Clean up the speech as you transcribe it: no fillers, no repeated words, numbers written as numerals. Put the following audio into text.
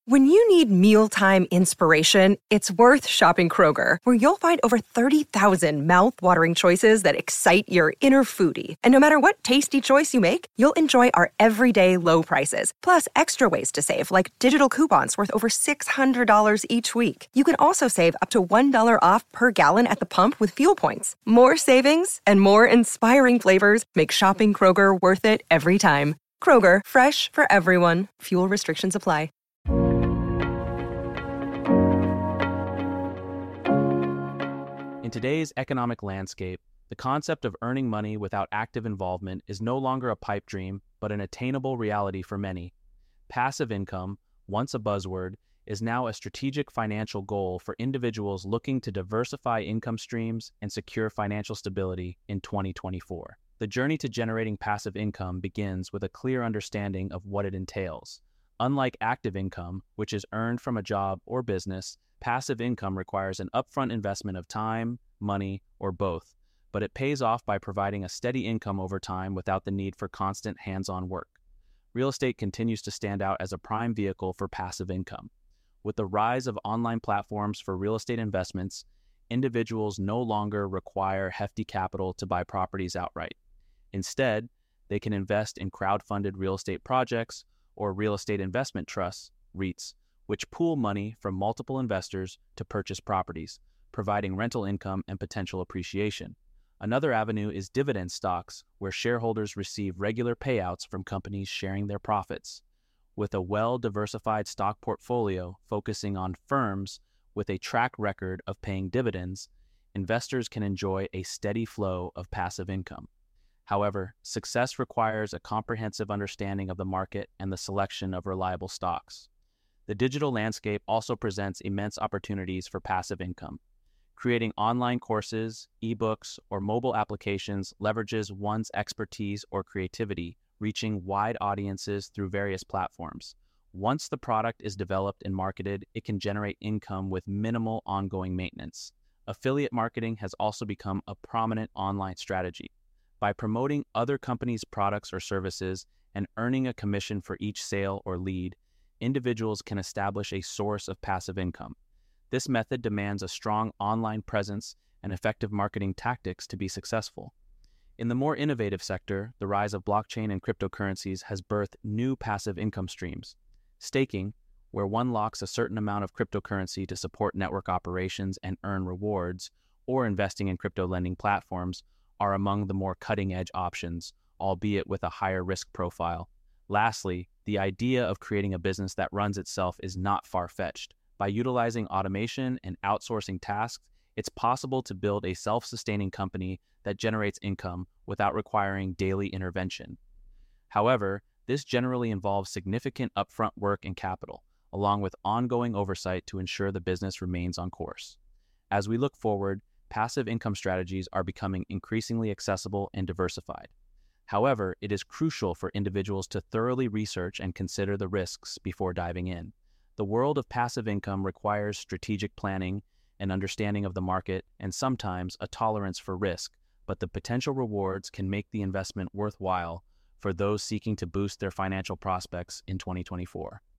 When you need mealtime inspiration, it's worth shopping Kroger, where you'll find over 30,000 mouth-watering choices that excite your inner foodie. And no matter what tasty choice you make, you'll enjoy our everyday low prices, plus extra ways to save, like digital coupons worth over $600 each week. You can also save up to $1 off per gallon at the pump with fuel points. More savings and more inspiring flavors make shopping Kroger worth it every time. Kroger, fresh for everyone. Fuel restrictions apply. In today's economic landscape, the concept of earning money without active involvement is no longer a pipe dream, but an attainable reality for many. Passive income, once a buzzword, is now a strategic financial goal for individuals looking to diversify income streams and secure financial stability in 2024. The journey to generating passive income begins with a clear understanding of what it entails. Unlike active income, which is earned from a job or business, passive income requires an upfront investment of time, money, or both, but it pays off by providing a steady income over time without the need for constant hands-on work. Real estate continues to stand out as a prime vehicle for passive income. With the rise of online platforms for real estate investments, individuals no longer require hefty capital to buy properties outright. Instead, they can invest in crowd-funded real estate projects or real estate investment trusts, REITs, which pool money from multiple investors to purchase properties, providing rental income and potential appreciation. Another avenue is dividend stocks, where shareholders receive regular payouts from companies sharing their profits. With a well-diversified stock portfolio focusing on firms with a track record of paying dividends, investors can enjoy a steady flow of passive income. However, success requires a comprehensive understanding of the market and the selection of reliable stocks. The digital landscape also presents immense opportunities for passive income. Creating online courses, ebooks, or mobile applications leverages one's expertise or creativity, reaching wide audiences through various platforms. Once the product is developed and marketed, it can generate income with minimal ongoing maintenance. Affiliate marketing has also become a prominent online strategy. By promoting other companies' products or services and earning a commission for each sale or lead, individuals can establish a source of passive income. This method demands a strong online presence and effective marketing tactics to be successful. In the more innovative sector, the rise of blockchain and cryptocurrencies has birthed new passive income streams. Staking, where one locks a certain amount of cryptocurrency to support network operations and earn rewards, or investing in crypto lending platforms, are among the more cutting-edge options, albeit with a higher risk profile. Lastly, the idea of creating a business that runs itself is not far-fetched. By utilizing automation and outsourcing tasks, it's possible to build a self-sustaining company that generates income without requiring daily intervention. However, this generally involves significant upfront work and capital, along with ongoing oversight to ensure the business remains on course. As we look forward, passive income strategies are becoming increasingly accessible and diversified. However, it is crucial for individuals to thoroughly research and consider the risks before diving in. The world of passive income requires strategic planning, an understanding of the market, and sometimes a tolerance for risk, but the potential rewards can make the investment worthwhile for those seeking to boost their financial prospects in 2024.